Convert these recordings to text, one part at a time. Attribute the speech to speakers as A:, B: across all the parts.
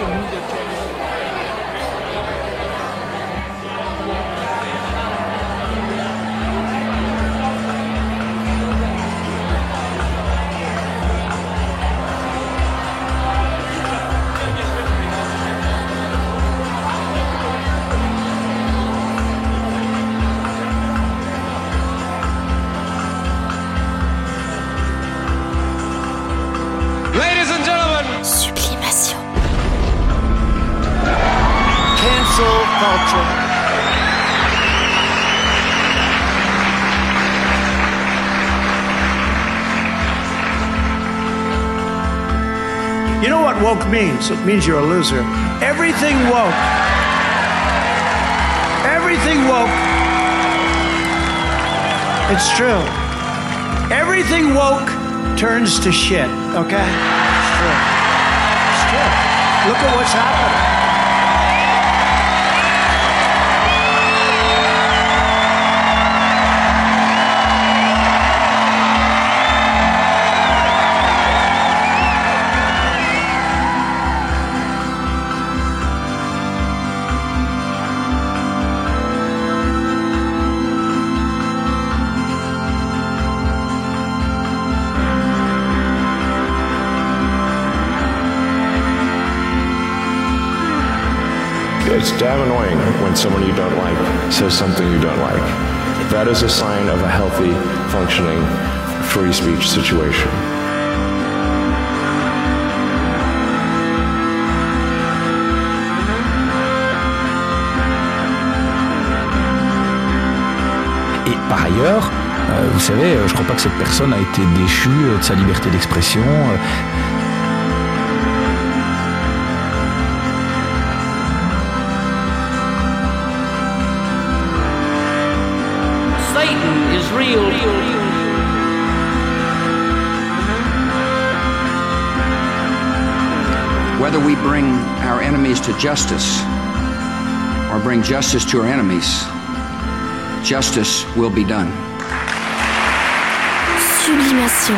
A: You know what woke means? It means you're a loser. Everything woke. Everything woke. It's true. Everything woke turns to shit, okay? It's true. It's true. Look at what's happening.
B: It's damn annoying when someone you don't like says something you don't like. That is a sign of a healthy, functioning, free speech situation.
C: Et par ailleurs, vous savez, je crois pas que cette personne a été déchue de sa liberté d'expression.
D: Satan is real.
E: Whether we bring our enemies to justice or bring justice to our enemies, justice will be done.
F: Sublimation.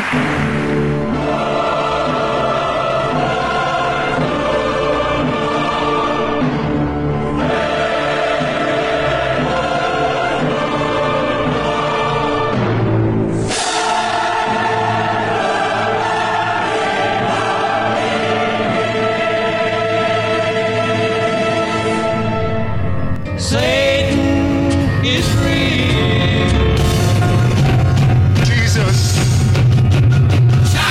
D: Shine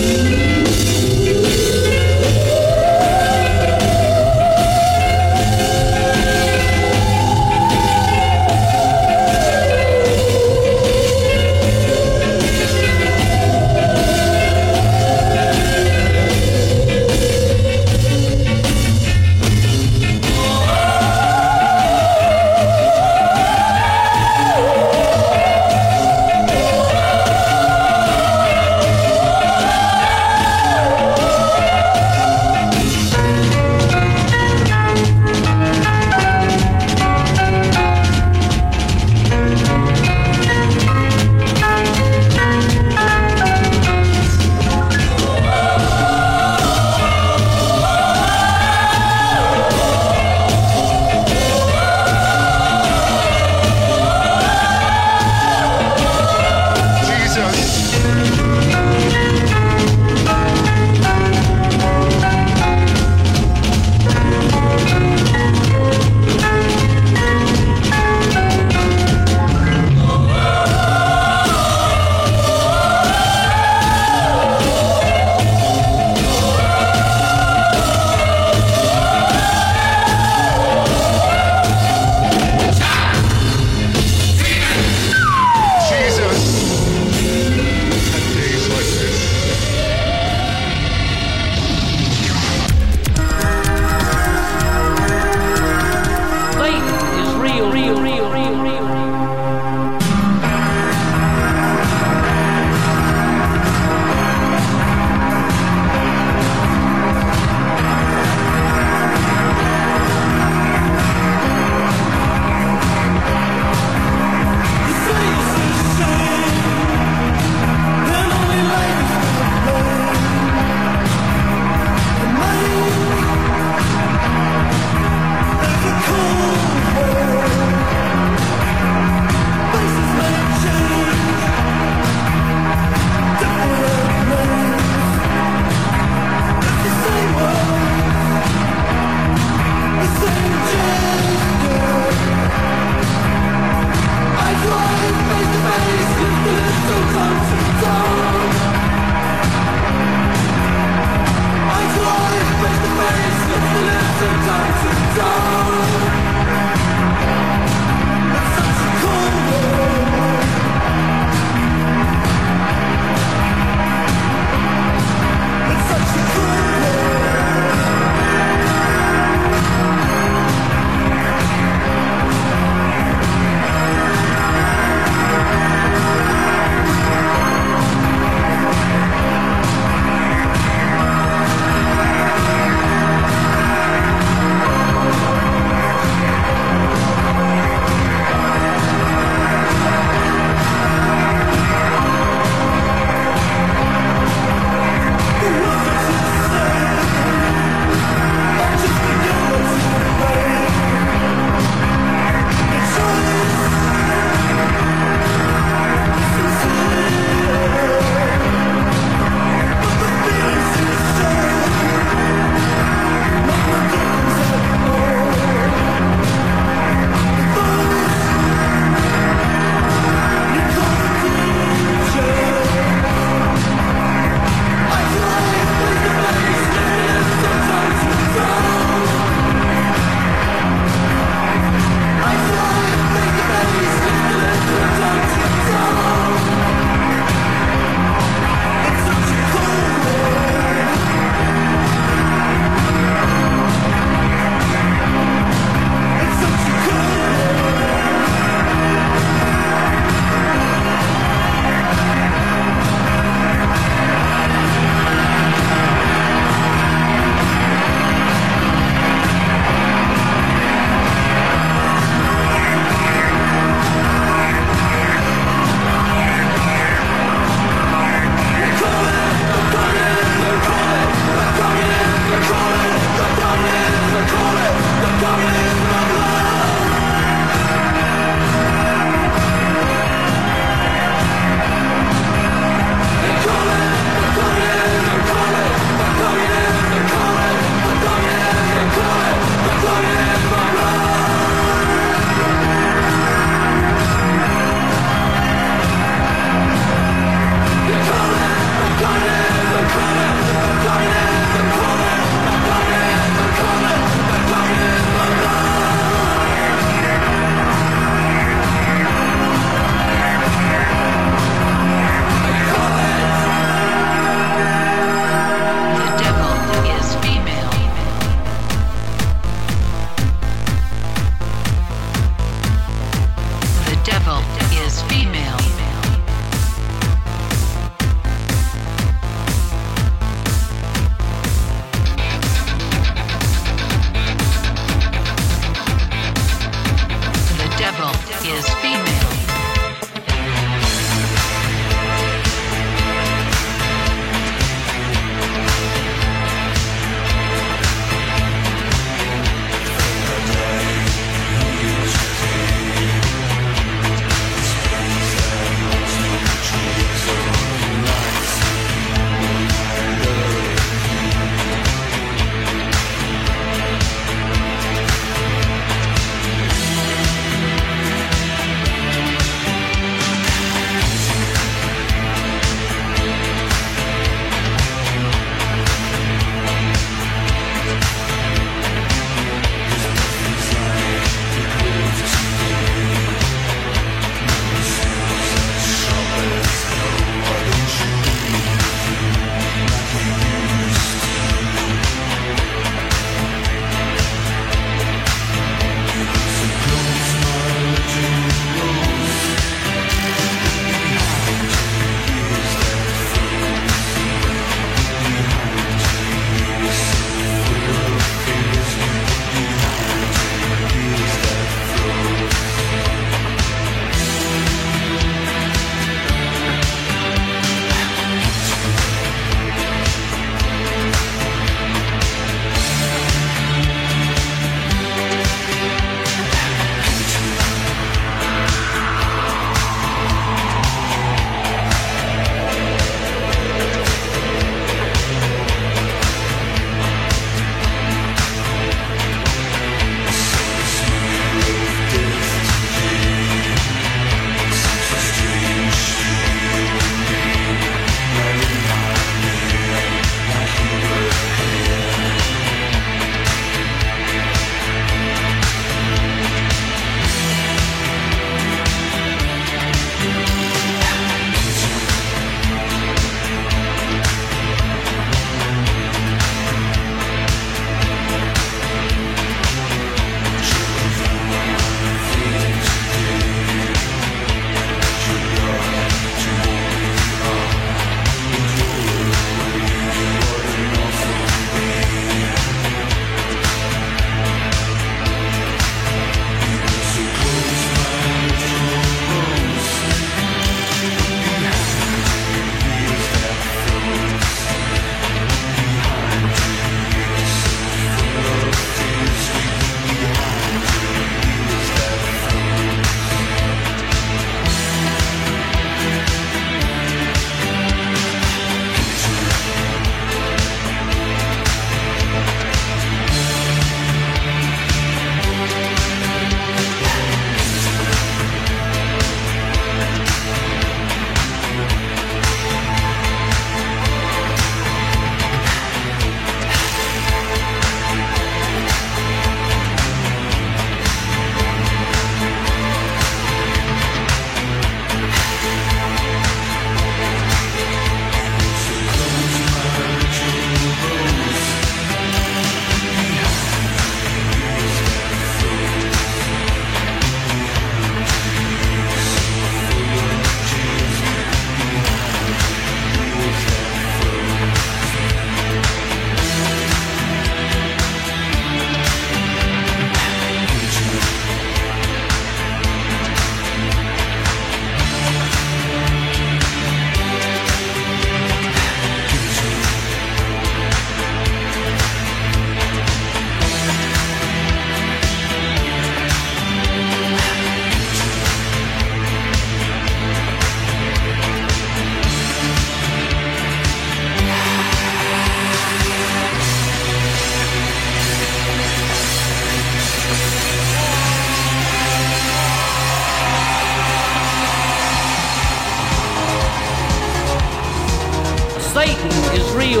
D: Satan is real.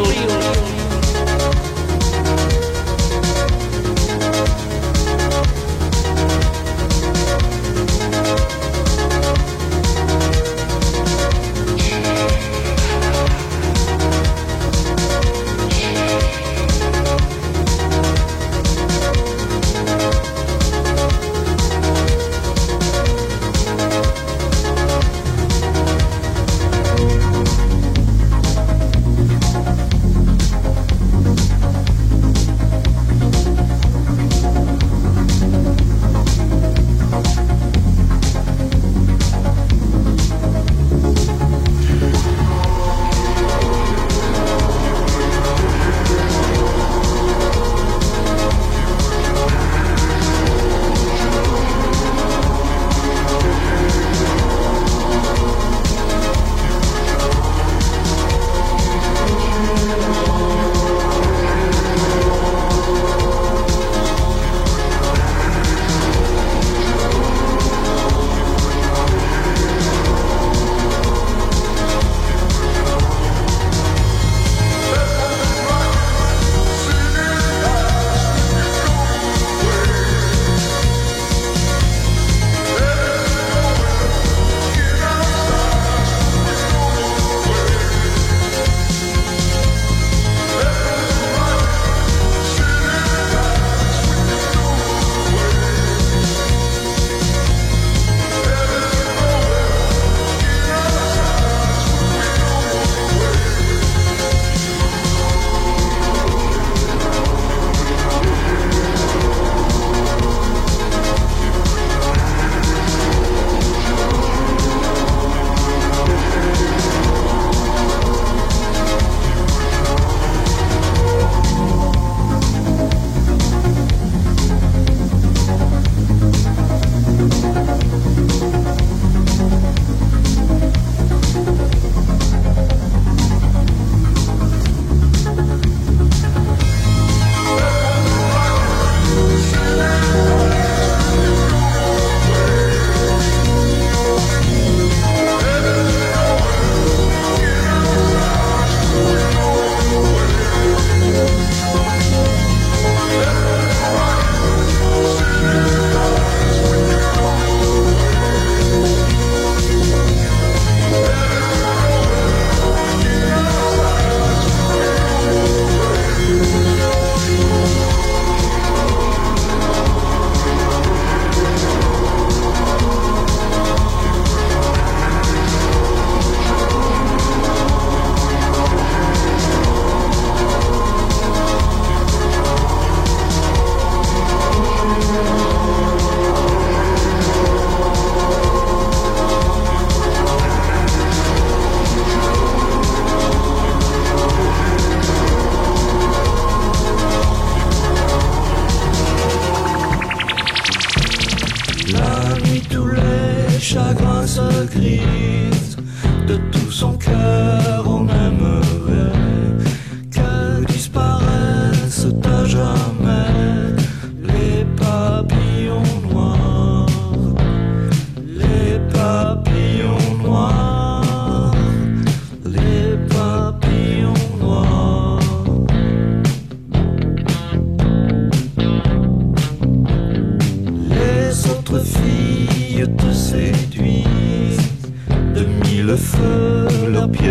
F: Feu, leurs pieds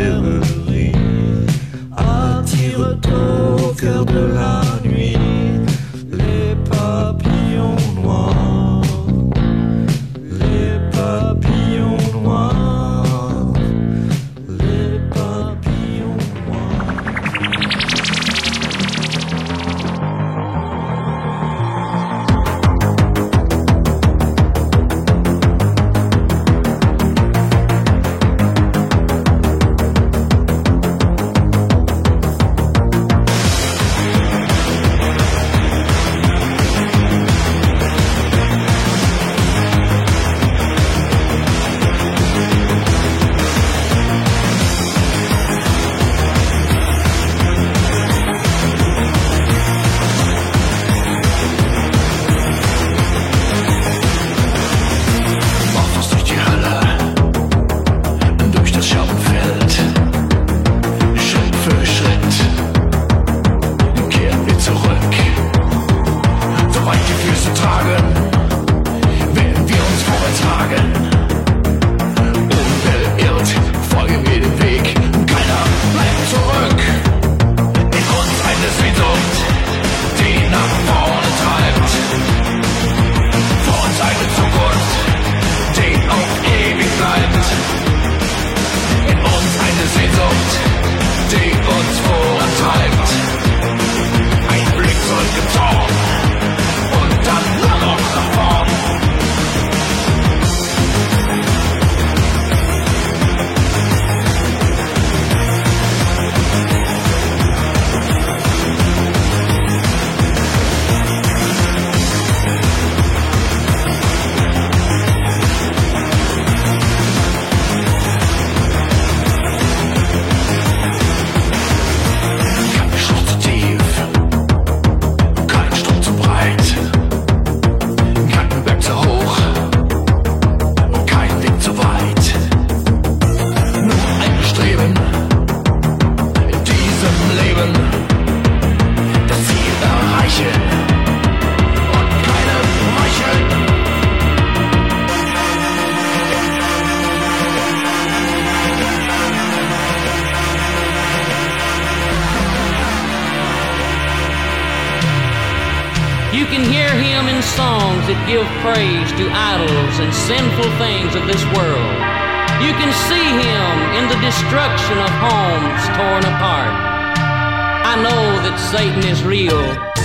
D: can hear him in songs that give praise to idols and sinful things of this world. You can see him in the destruction of homes torn apart. I know that Satan is real.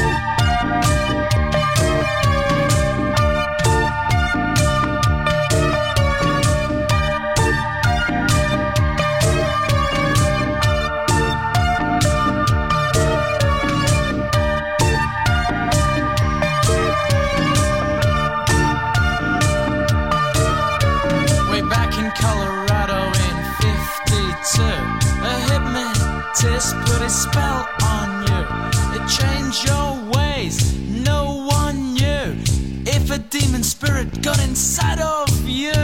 F: Put a spell on you. It changed your ways. No one knew if a demon spirit got inside of you.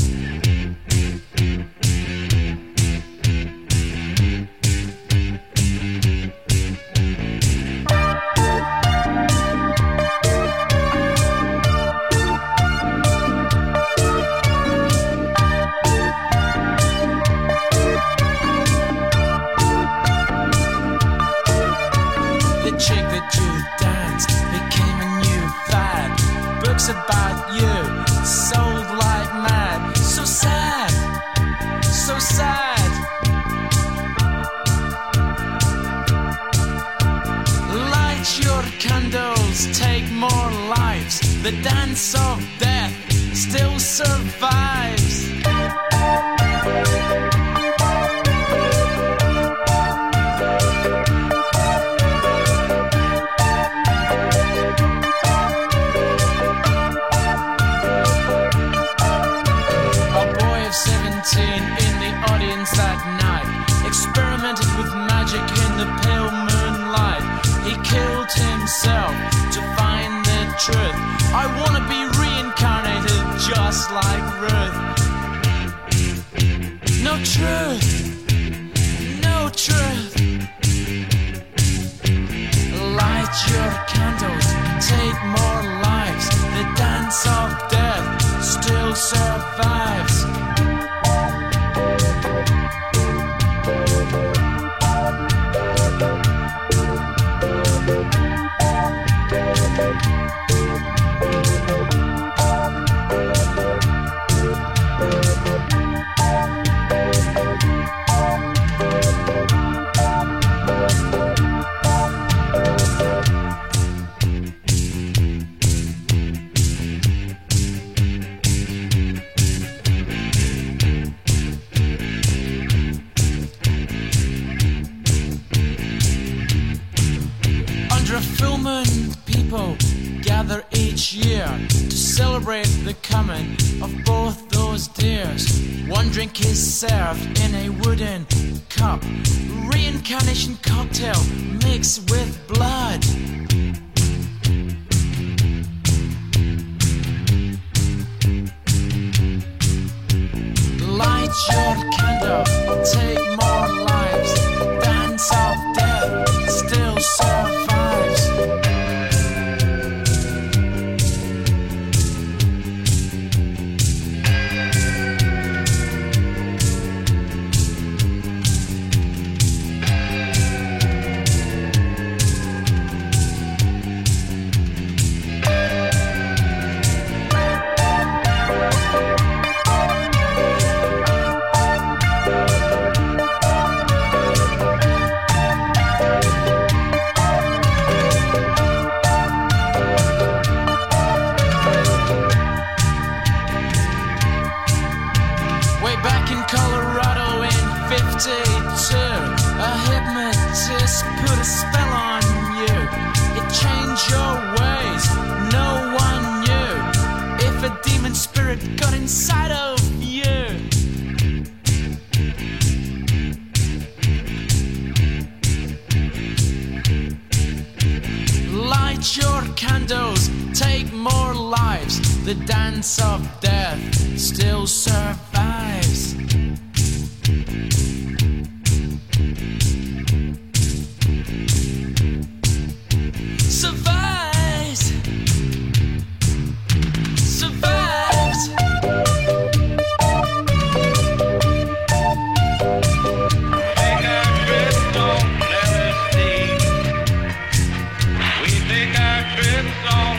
F: About you, sold like mad. So sad, so sad. Light your candles, take more lives. The dance of death still survives. In the audience that night, experimented with magic in the pale moonlight. He killed himself to find the truth. I wanna be reincarnated just like Ruth. No truth, no truth. Light your candles, take more lives. The dance of death still survives. Gather each year to celebrate the coming of both those dears. One drink is served in a wooden cup, reincarnation cocktail mixed with blood. Light your candle, take more lives. Dance of death still survives. A hypnotist put a spell on you. It changed your ways. No one knew if a demon spirit got inside of you. Light your candles, take more lives. The dance of death still survives. Survives. Survives.
G: Take our trips on LSD. We take our trips on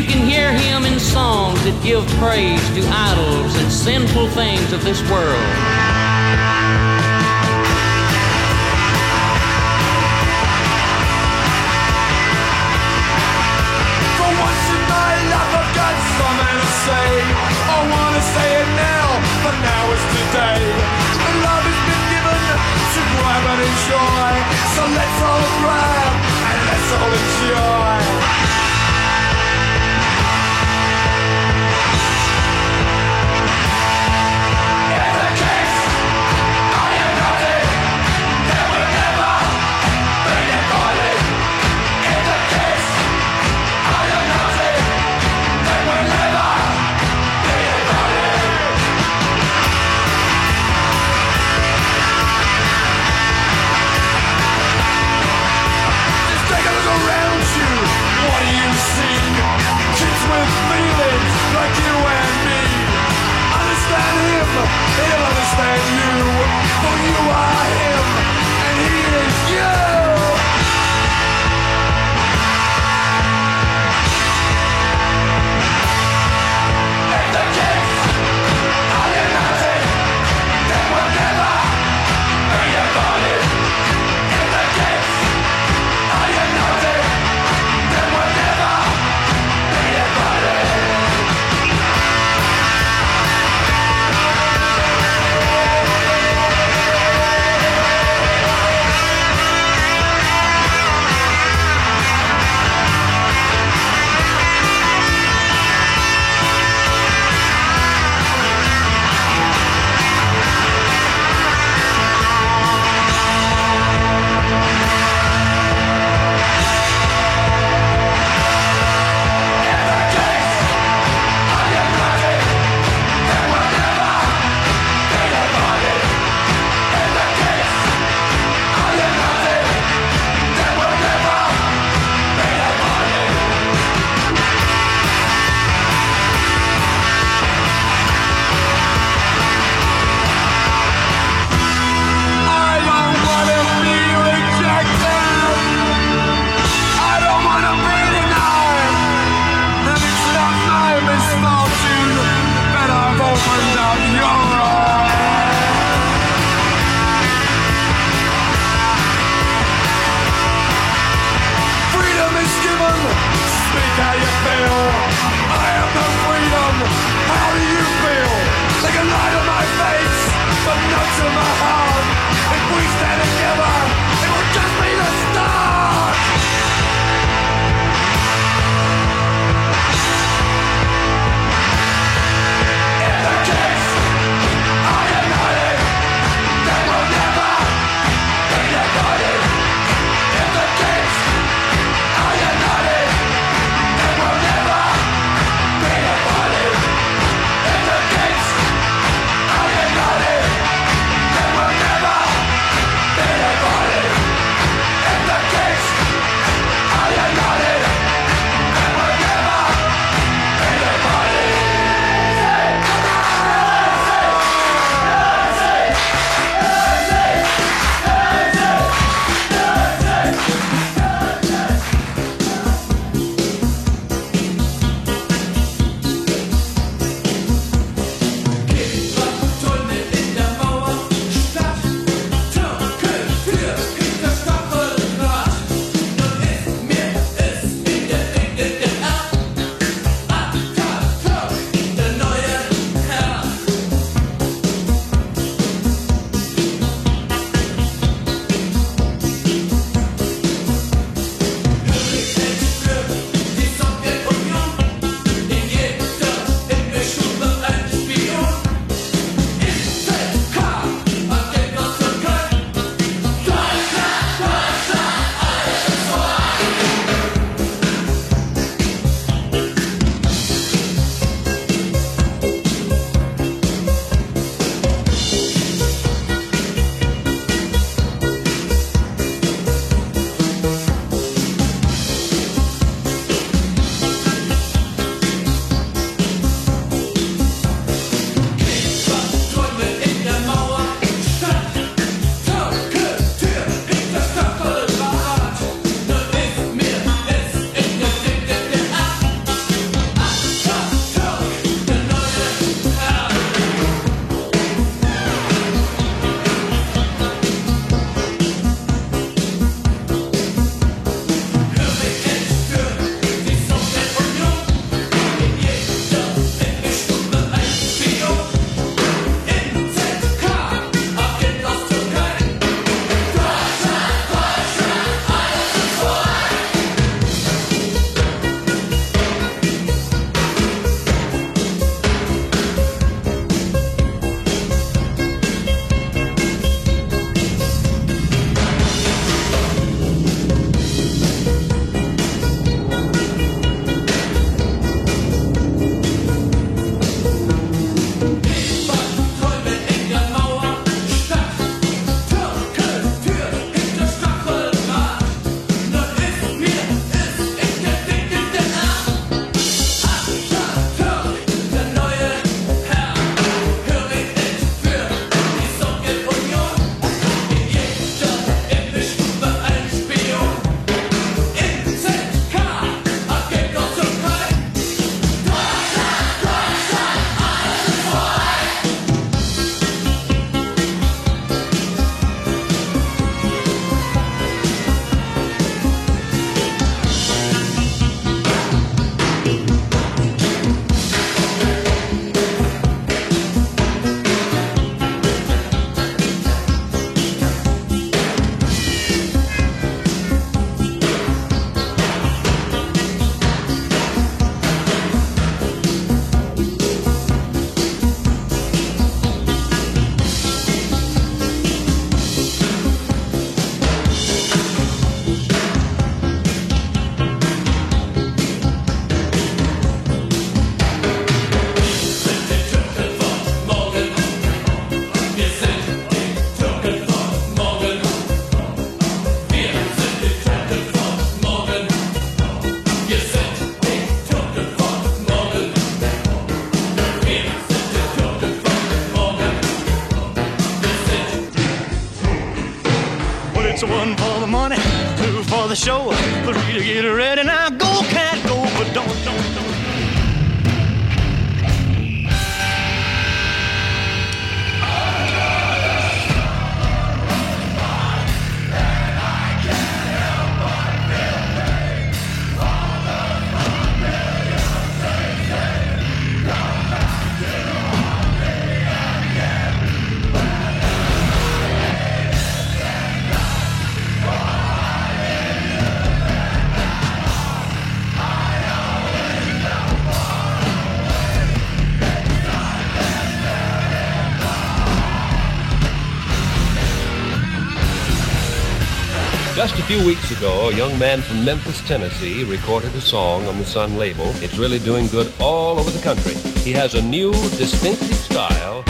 D: You can hear him in songs that give praise to idols and sinful things of this world.
H: For once in my life I've got something to say. I wanna say it now, but now is today. The love has been given to grab and enjoy. So let's all grab and let's all enjoy.
I: So one for the money, two for the show, three to get ready. Now go, cat, go, but don't.
J: Just a few weeks ago, a young man from Memphis, Tennessee, recorded a song on the Sun label. It's really doing good all over the country. He has a new, distinctive style.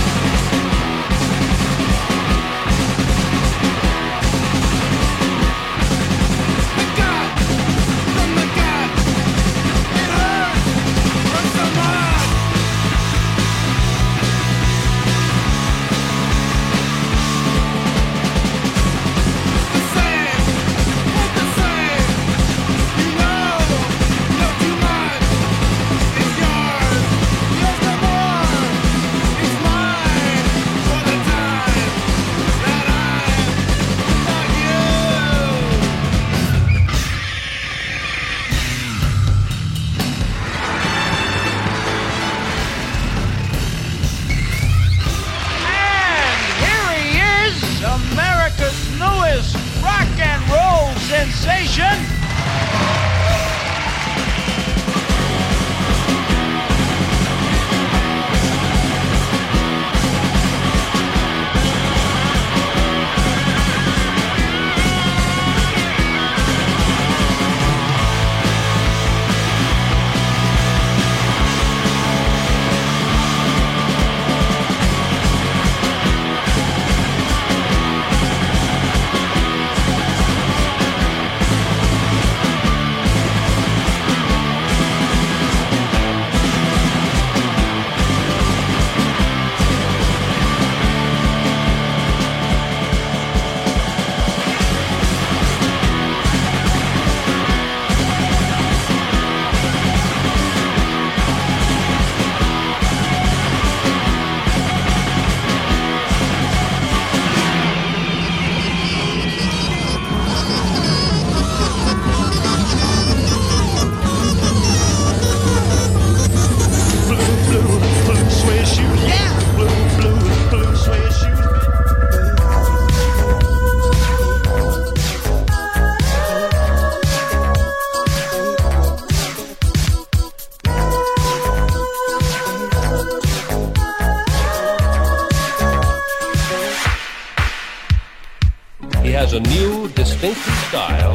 J: A new, distinctive style.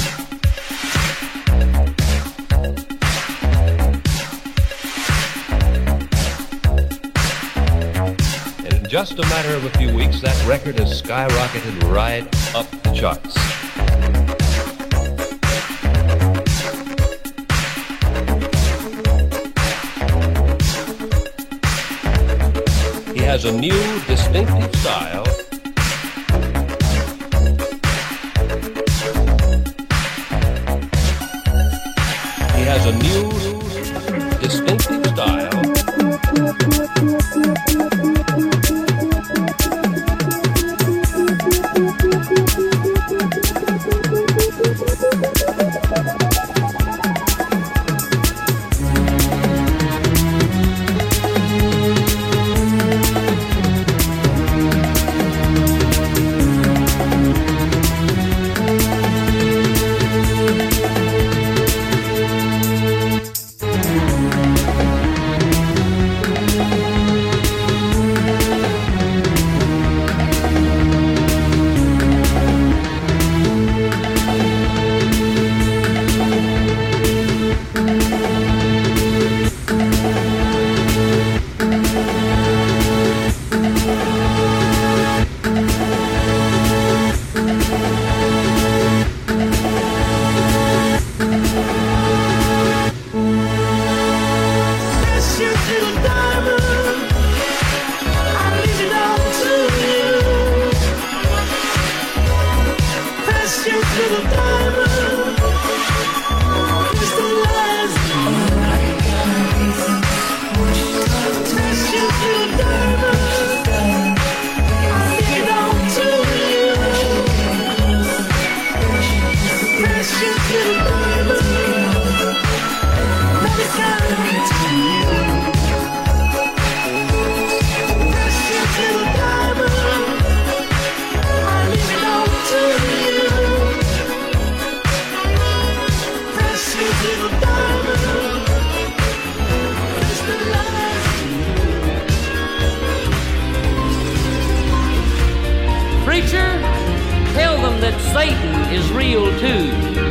J: And in just a matter of a few weeks, that record has skyrocketed right up the charts. He has a new, distinctive style. Has a new, distinctive style.
D: that Satan is real too.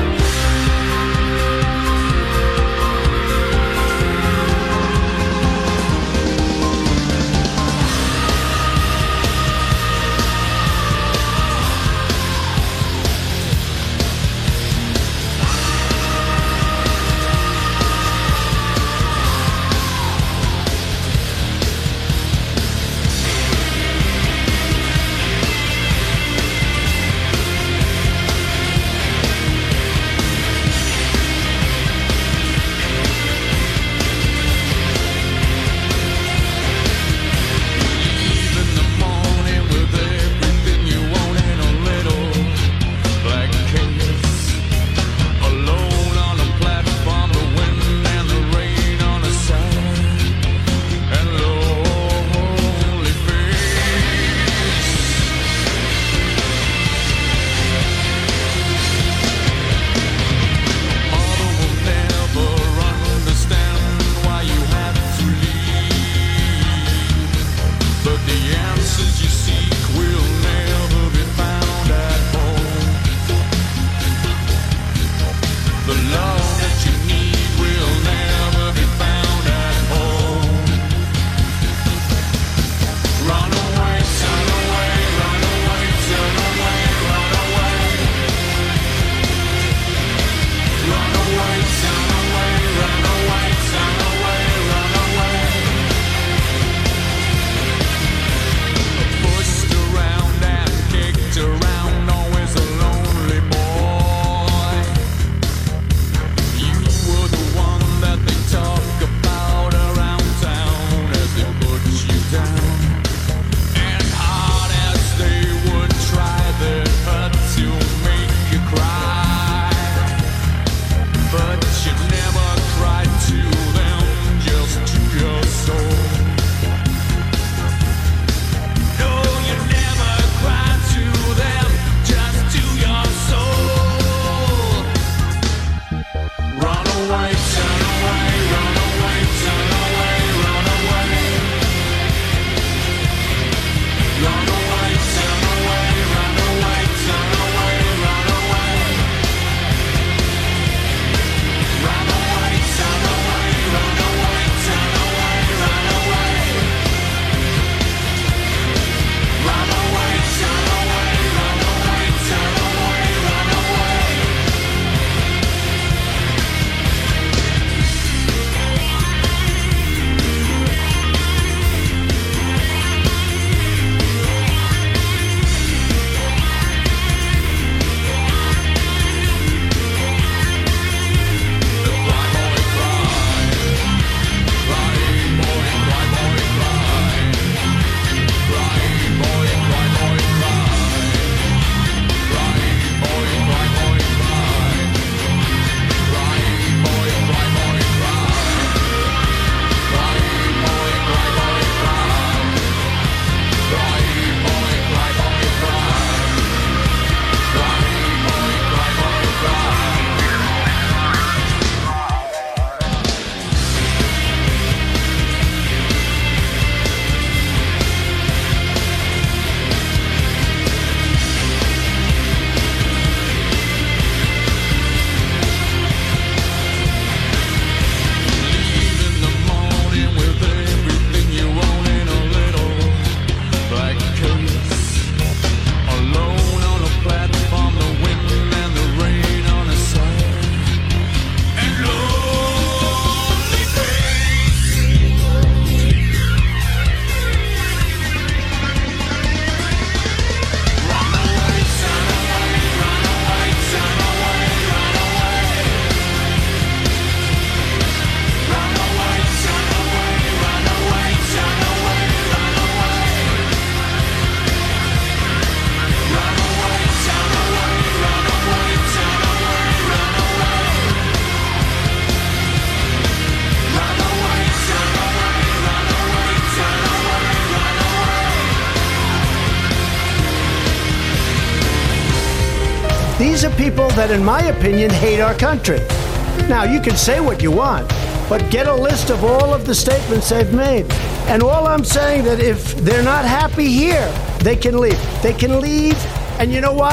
A: These are people that, in my opinion, hate our country. Now, you can say what you want, but get a list of all of the statements they've made. And all I'm saying that if they're not happy here, they can leave. They can leave, and you know what?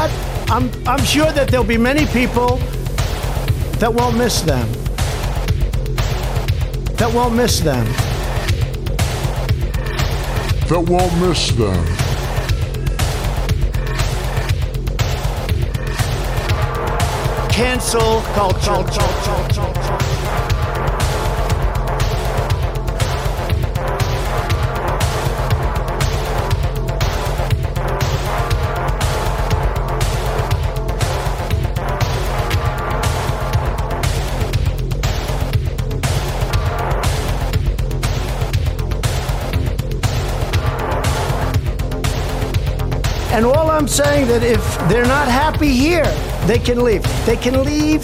A: I'm sure that there'll be many people that won't miss them. That won't miss them.
K: That won't miss them.
A: Cancel culture. And all I'm saying that if they're not happy here, they can leave. They can leave.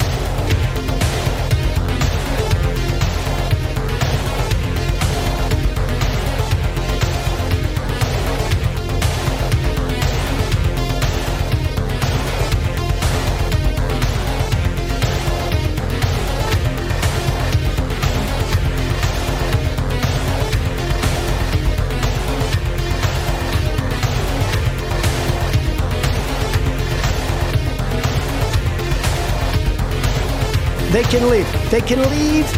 A: They can leave. They can leave.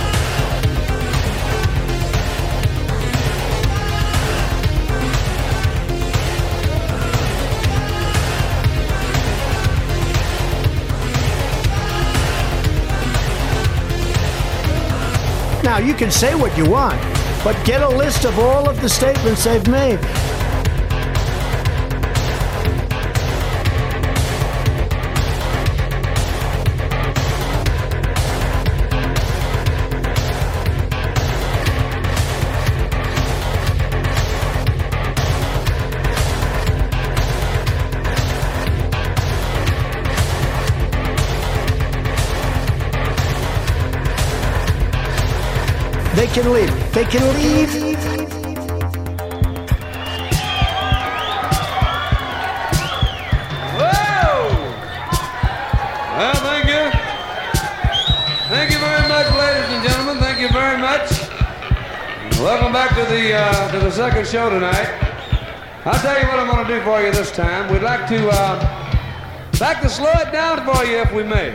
A: Now, you can say what you want, but get a list of all of the statements they've made. They can leave. They can leave.
L: Whoa! Well, thank you. Thank you very much, ladies and gentlemen. Thank you very much. Welcome back to the second show tonight. I'll tell you what I'm going to do for you this time. We'd like to slow it down for you, if we may.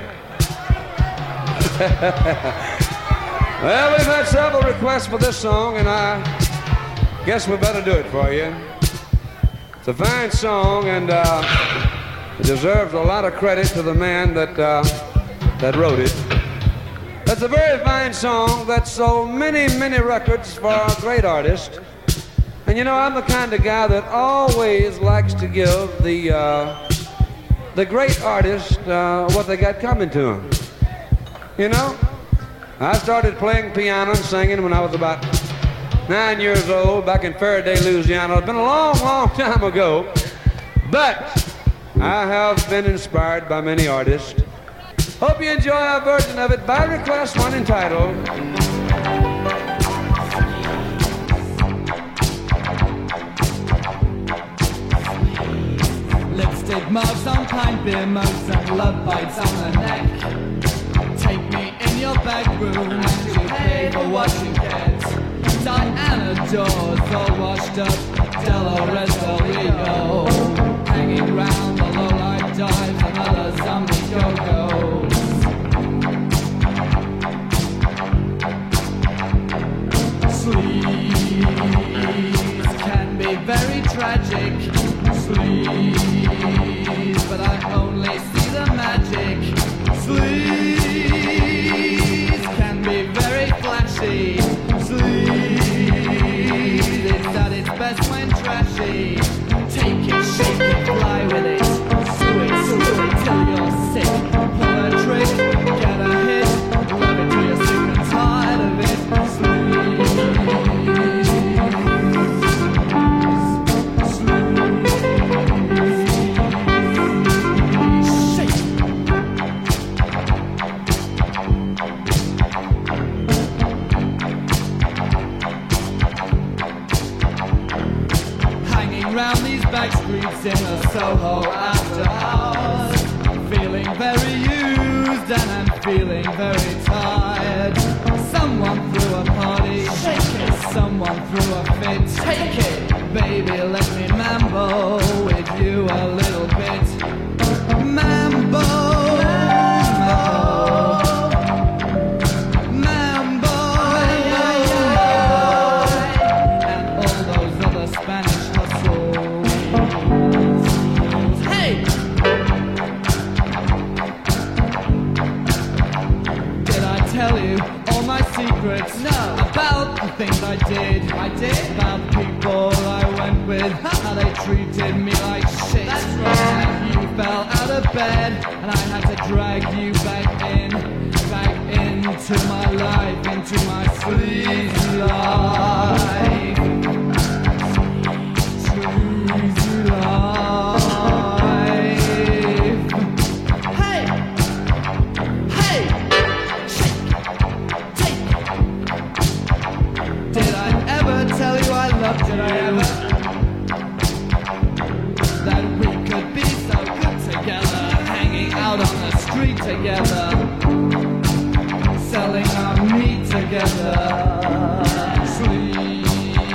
L: Well, we've had several requests for this song, and I guess we better do it for you. It's a fine song, and it deserves a lot of credit to the man that wrote it. It's a very fine song that sold many, many records for a great artist. And you know, I'm the kind of guy that always likes to give the great artist what they got coming to them. You know? I started playing piano and singing when I was about 9 years old back in Faraday, Louisiana. It's been a long, long time ago, but I have been inspired by many artists. Hope you enjoy our version of it by request, one entitled
M: Lipstick marks on pine beer mugs and love bites on the neck. Take me in your back room and you pay for what you get. Diana Dawes all washed up, Dolores Del Rio, hanging round the low-light dives and other zombie go-go's. Sleaze can be very tragic. Sleaze, but I only see the magic. Sleaze can be very flashy. Sleaze is at its best when trashy. Take it, shake it, fly with it. Screw it till you're sick. Pull a trick, get a hit. Love it till you're sick and tired of it. Round these back streets in a Soho after hours, feeling very used and I'm feeling very tired. Someone threw a party, shake it. Someone threw a fit, take it. Baby, let me mambo with you a little bit. did. About people I went with, how they treated me like shit. That's right. You fell out of bed, and I had to drag you back into my life, into my sleazy life. Sleazy life. Hey! Hey! Shake! Take! Did I ever tell you I loved you? Did I ever? That we could be so good together, hanging out on the street together, selling our meat together. Sleep.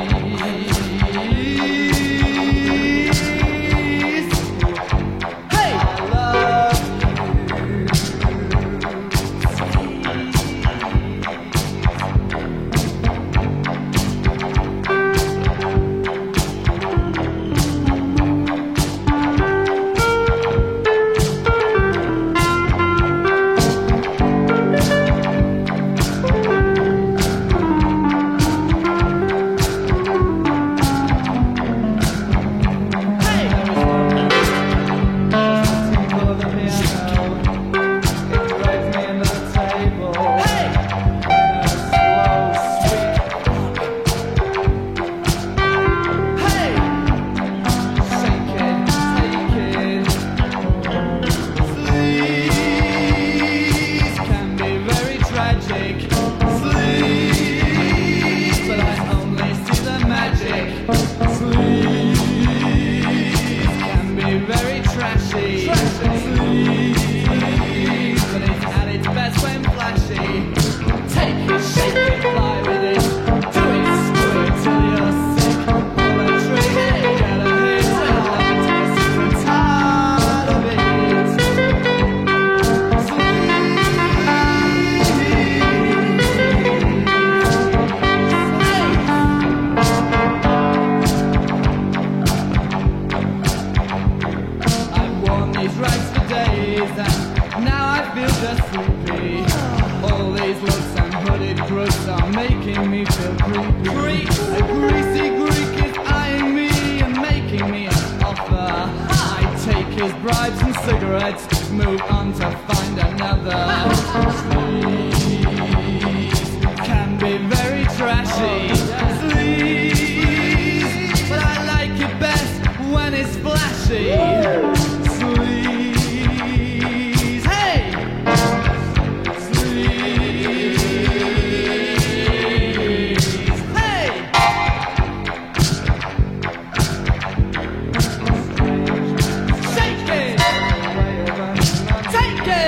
M: Hey! I love Take it!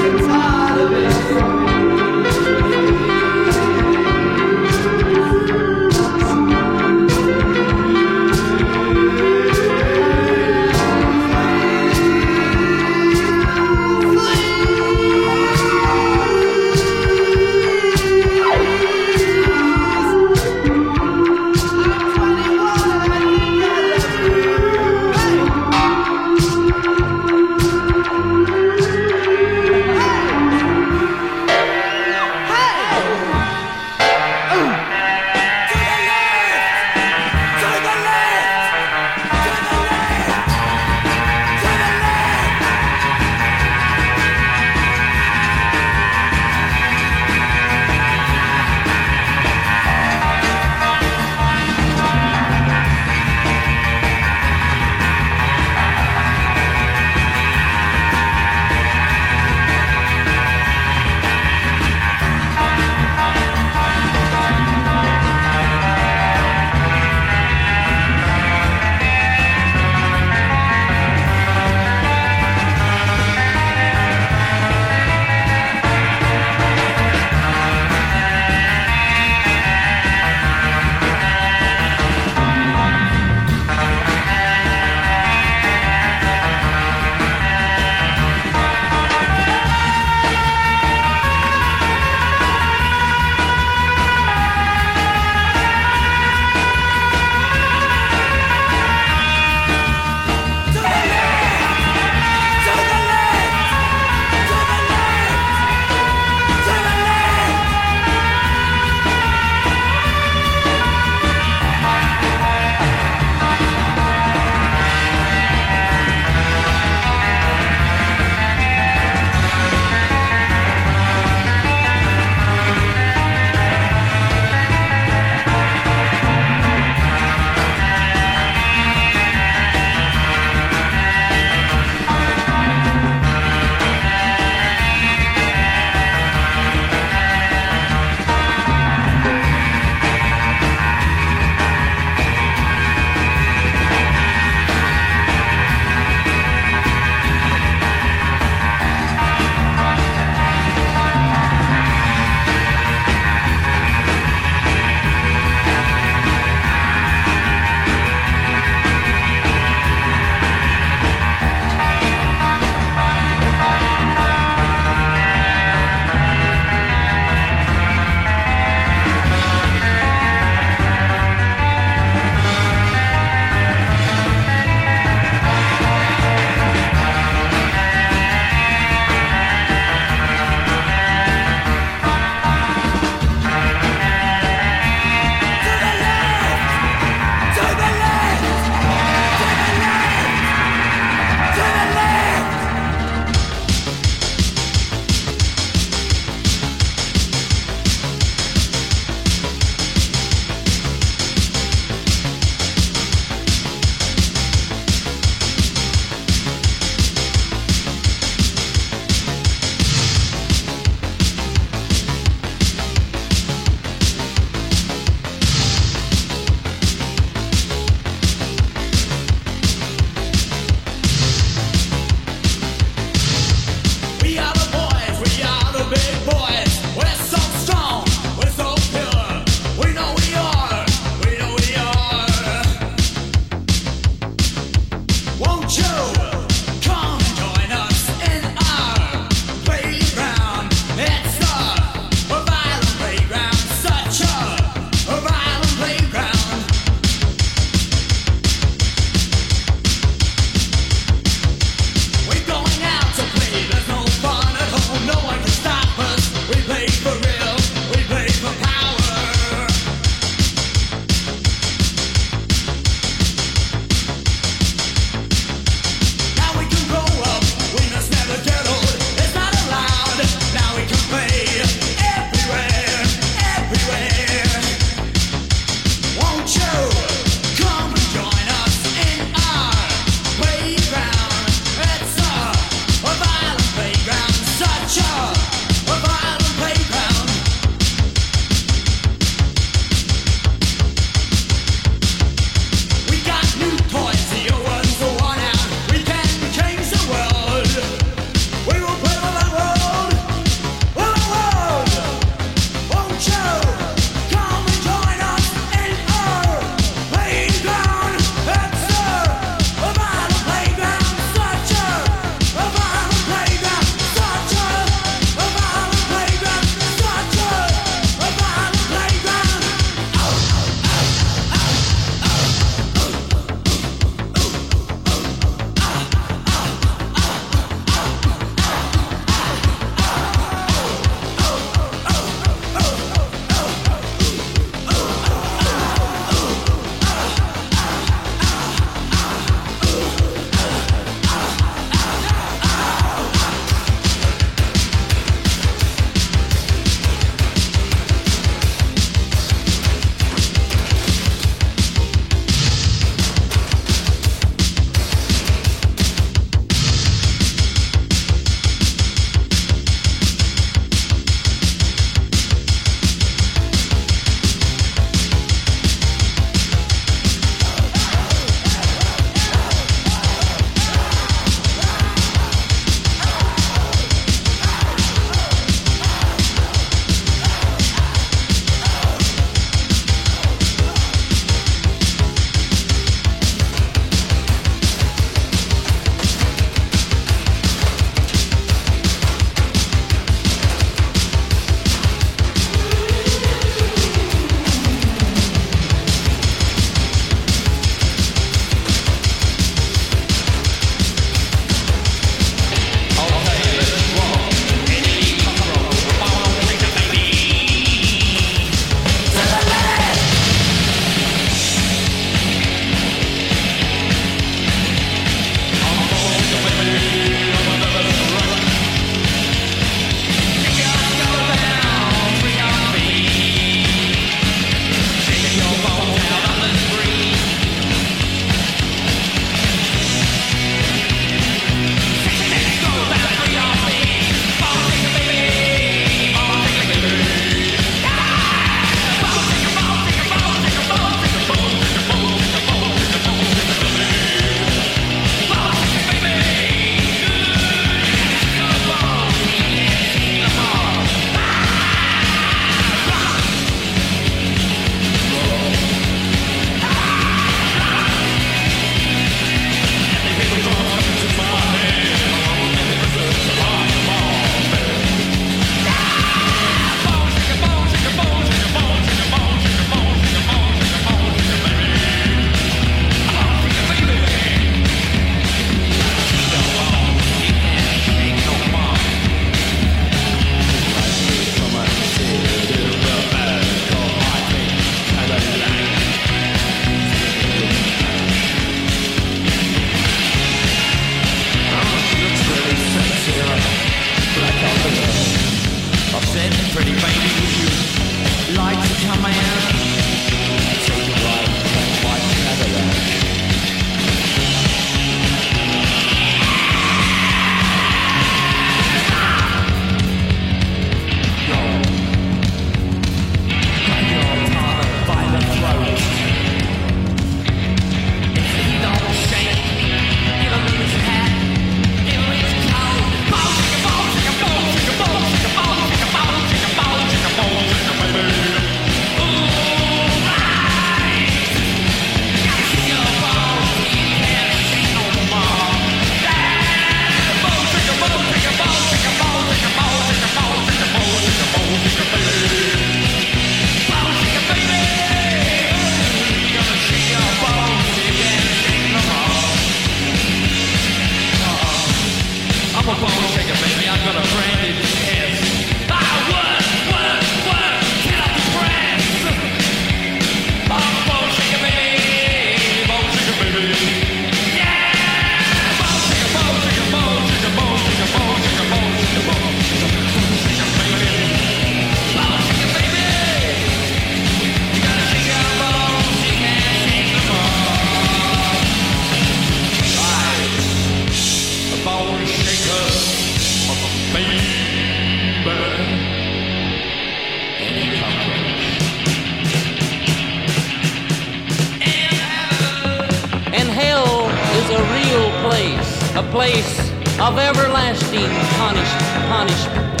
D: a place of everlasting punishment.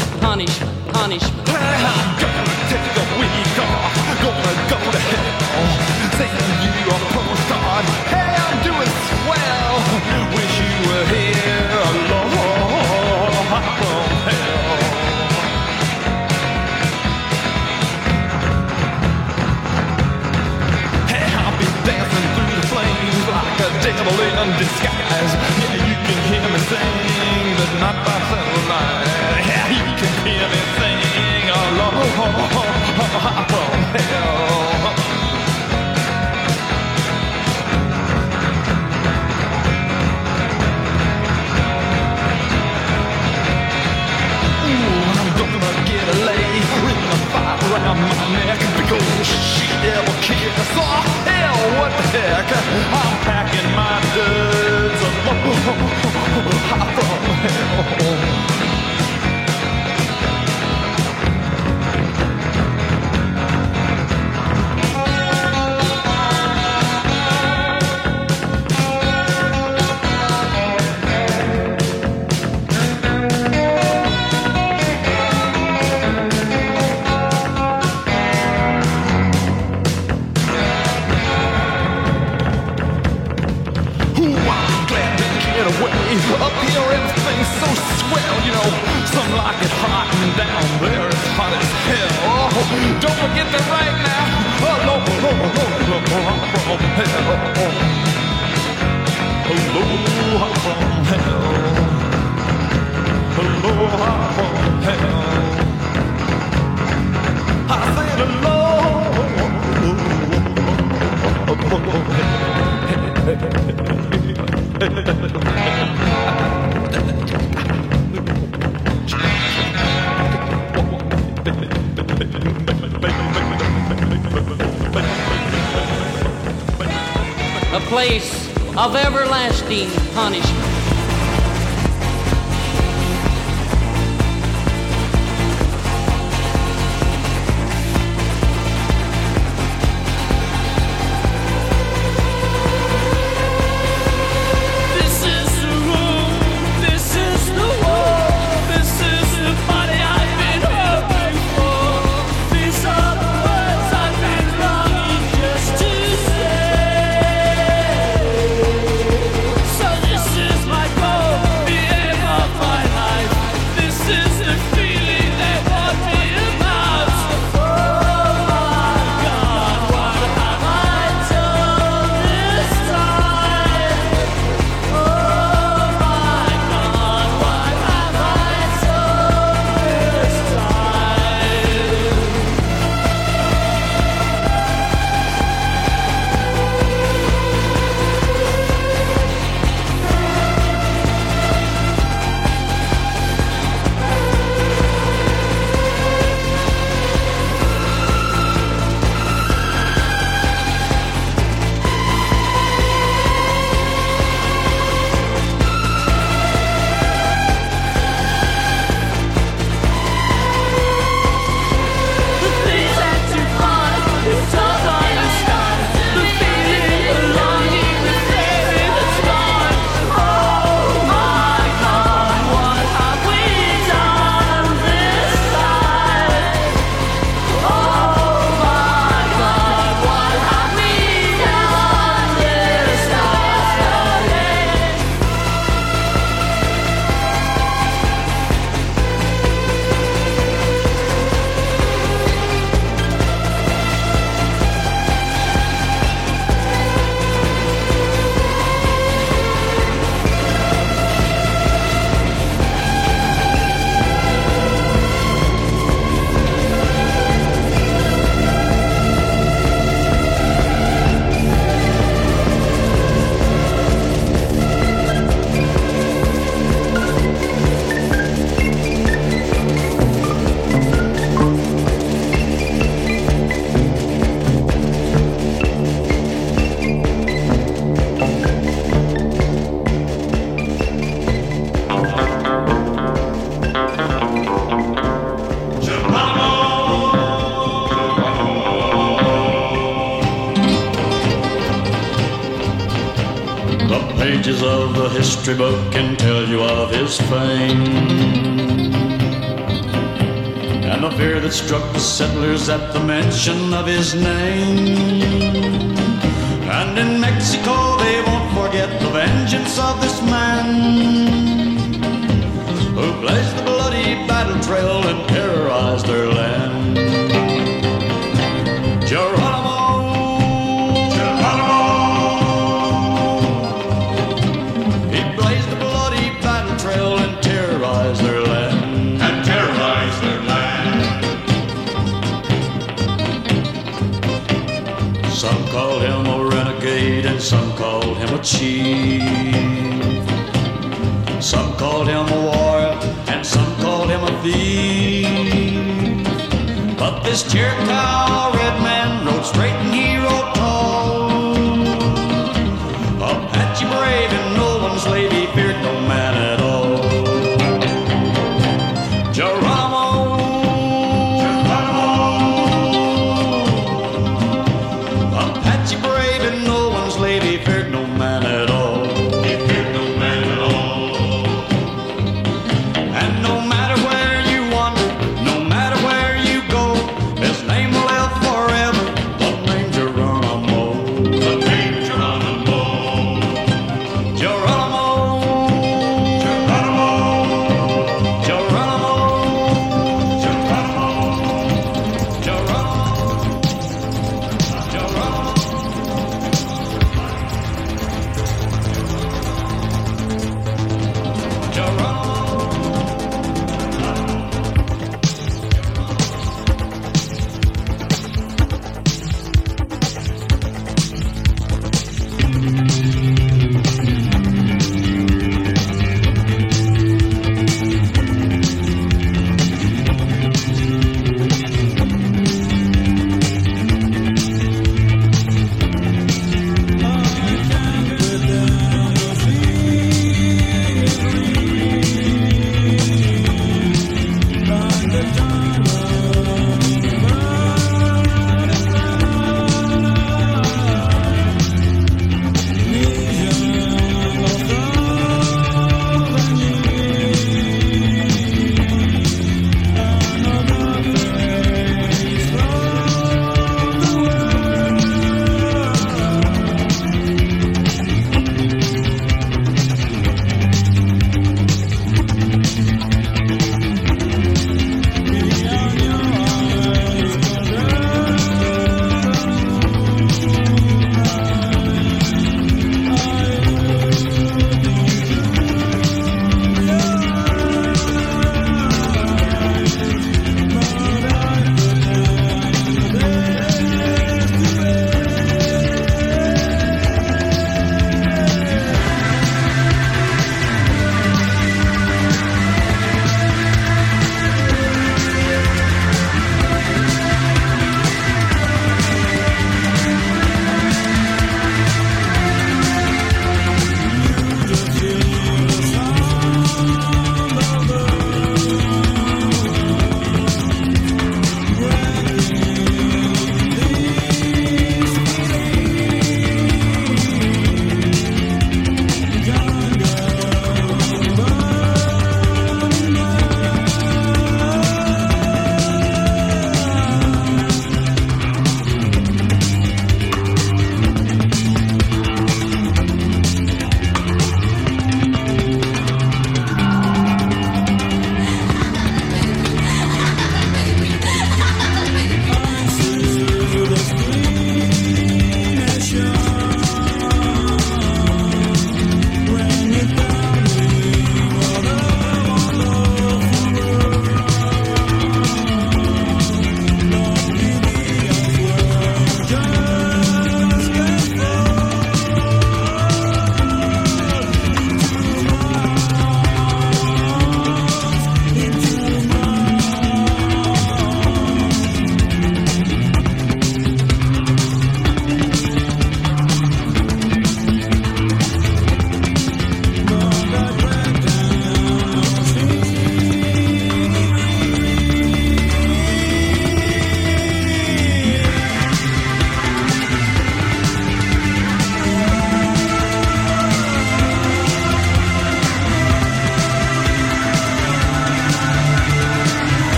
H: Hey, I'm gonna take a week off, gonna go to hell, saying you are postcard. Hey, I'm doing swell, wish you were here, Lord, from hell. Hey, I'll be dancing through the flames like a devil in disguise. Yeah, you can hear me sing, but not by satellite. Yeah, you can hear me sing, Lord, from hell. Around my neck because she never cares. Oh hell, what the heck? I'm packing my duds from hell. Up here everything's so swell, you know. Some like it hot and down there it's hot as hell. Oh, don't forget that right now. Hello, hello, hello, from hell. Hello, from hell. Hello, from hell. I said hello.
D: A place of everlasting punishment.
H: This is
N: pages of the history book can tell you of his fame, and the fear that struck the settlers at the mention of his name. And in Mexico they won't forget the vengeance of this man who blazed the bloody battle trail and terrorized their land. Geronimo, Geronimo, he blazed the bloody battle trail and terrorized their land. And terrorized their land. Some called him a renegade and some called him a chief. Some called him a warrior and some called him a thief. But this Chiricahua red man rode straight and he rode tall, Apache brave and no one slave, he feared no man at all. Geronimo, Geronimo, Apache brave and no one slave, he feared no man at all. He feared no man at all. And no matter where you wander, no matter where you go, his name will live forever, the name Geronimo.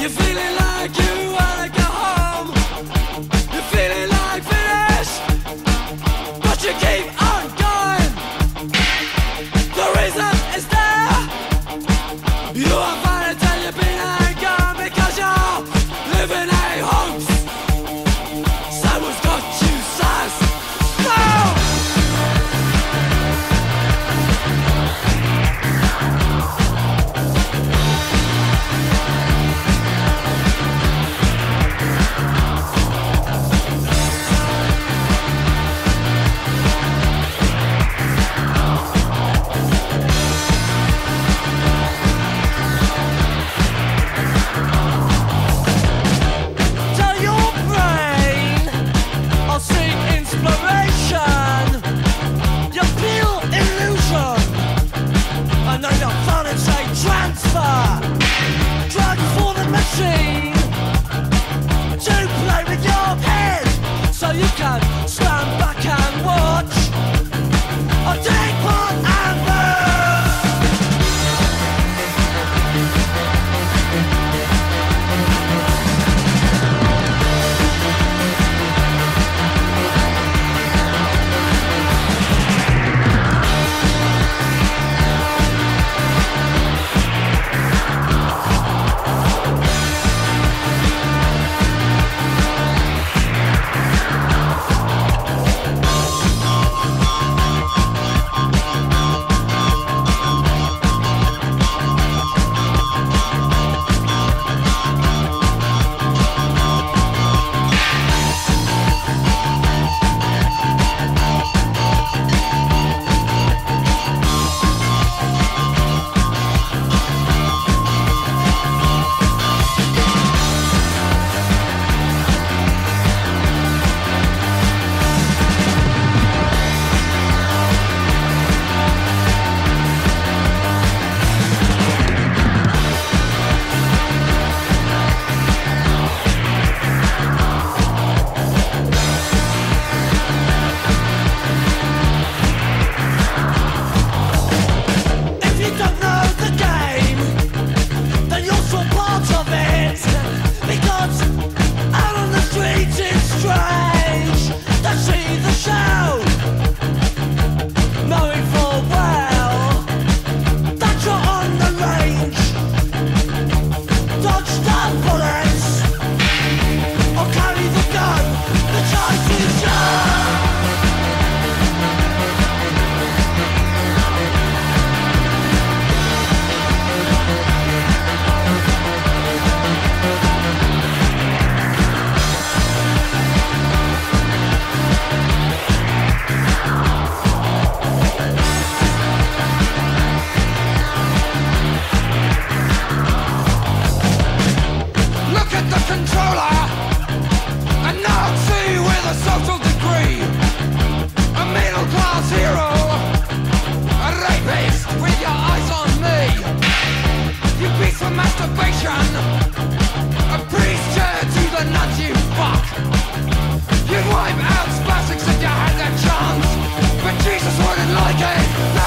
H: You're feeling like you wanna go home. You're feeling like finished, but you keep on going. The reason is there. You are fine until you've been and gone because you're living a hoax. Someone's got you sus. No! Tell your brain I'll seek inspiration. You feel illusion. I know you're fun and say transfer. Drugs for the machine to play with your head, so you can stand back and watch. I'll take part and burn. If you don't know the game, then you're still part of it. Because out on the streets it's strange to see the show, knowing full well that you're on the range. Dodge the bullets or carry the gun. The choice is yours. Look at the controller, a Nazi with a social degree, a middle class hero, a rapist with your eyes on me. You beast for masturbation, a priest to the nuts you fuck. You'd wipe out spasms if you had that chance, but Jesus wouldn't like it. No!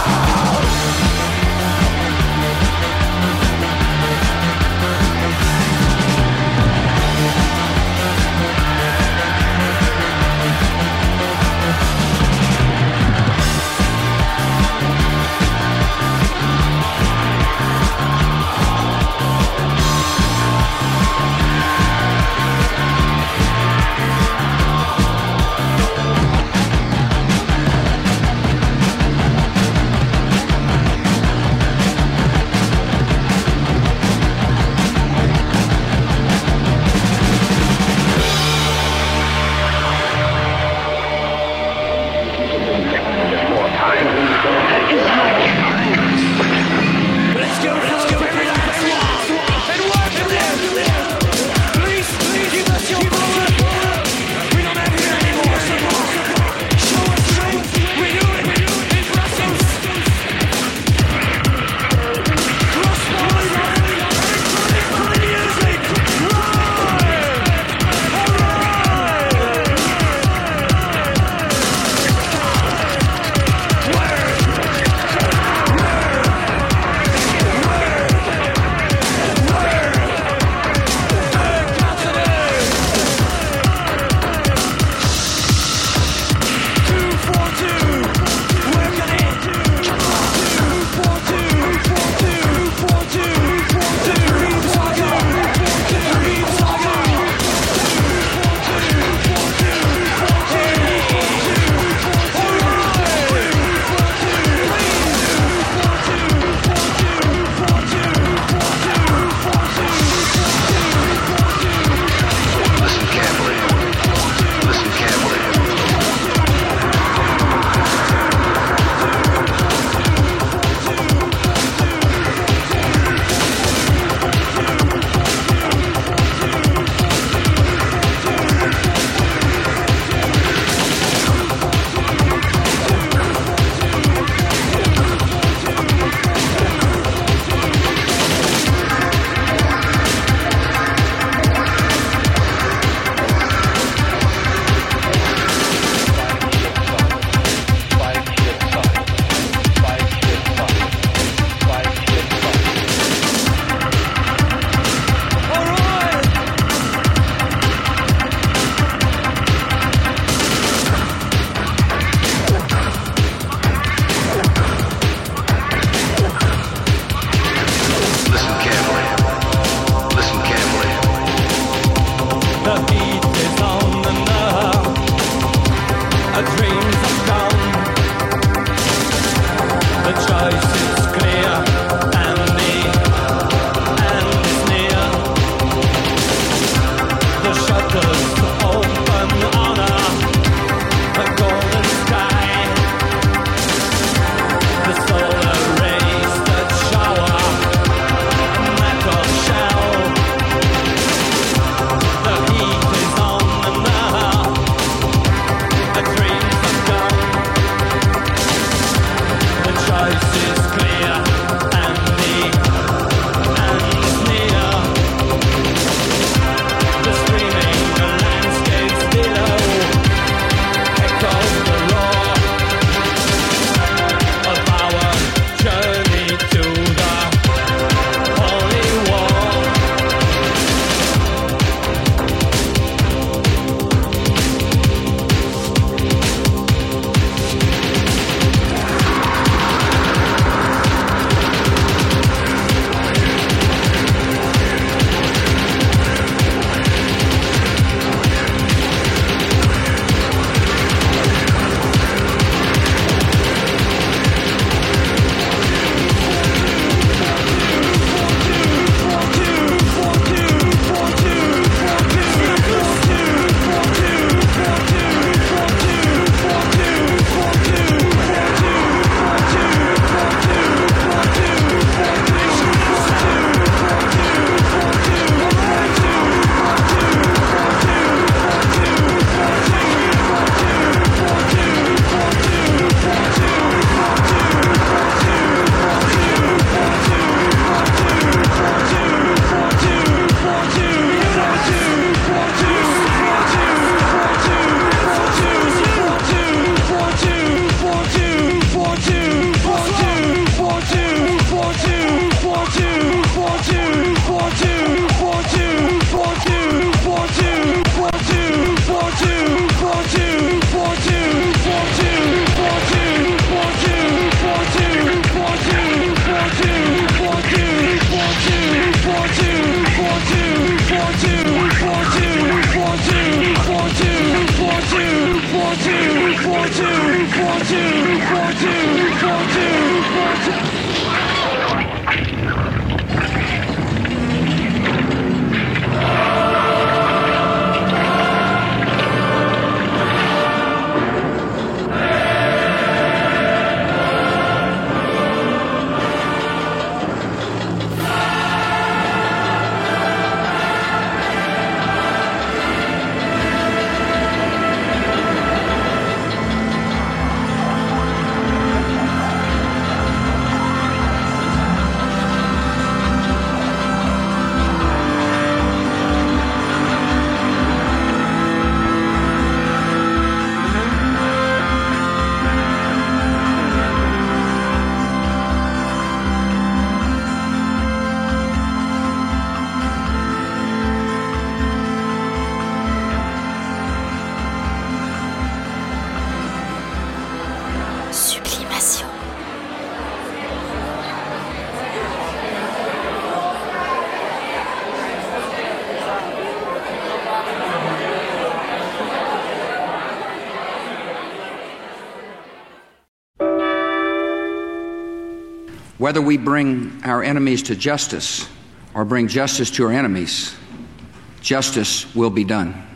E: Whether we bring our enemies to justice or bring justice to our enemies, justice will be done.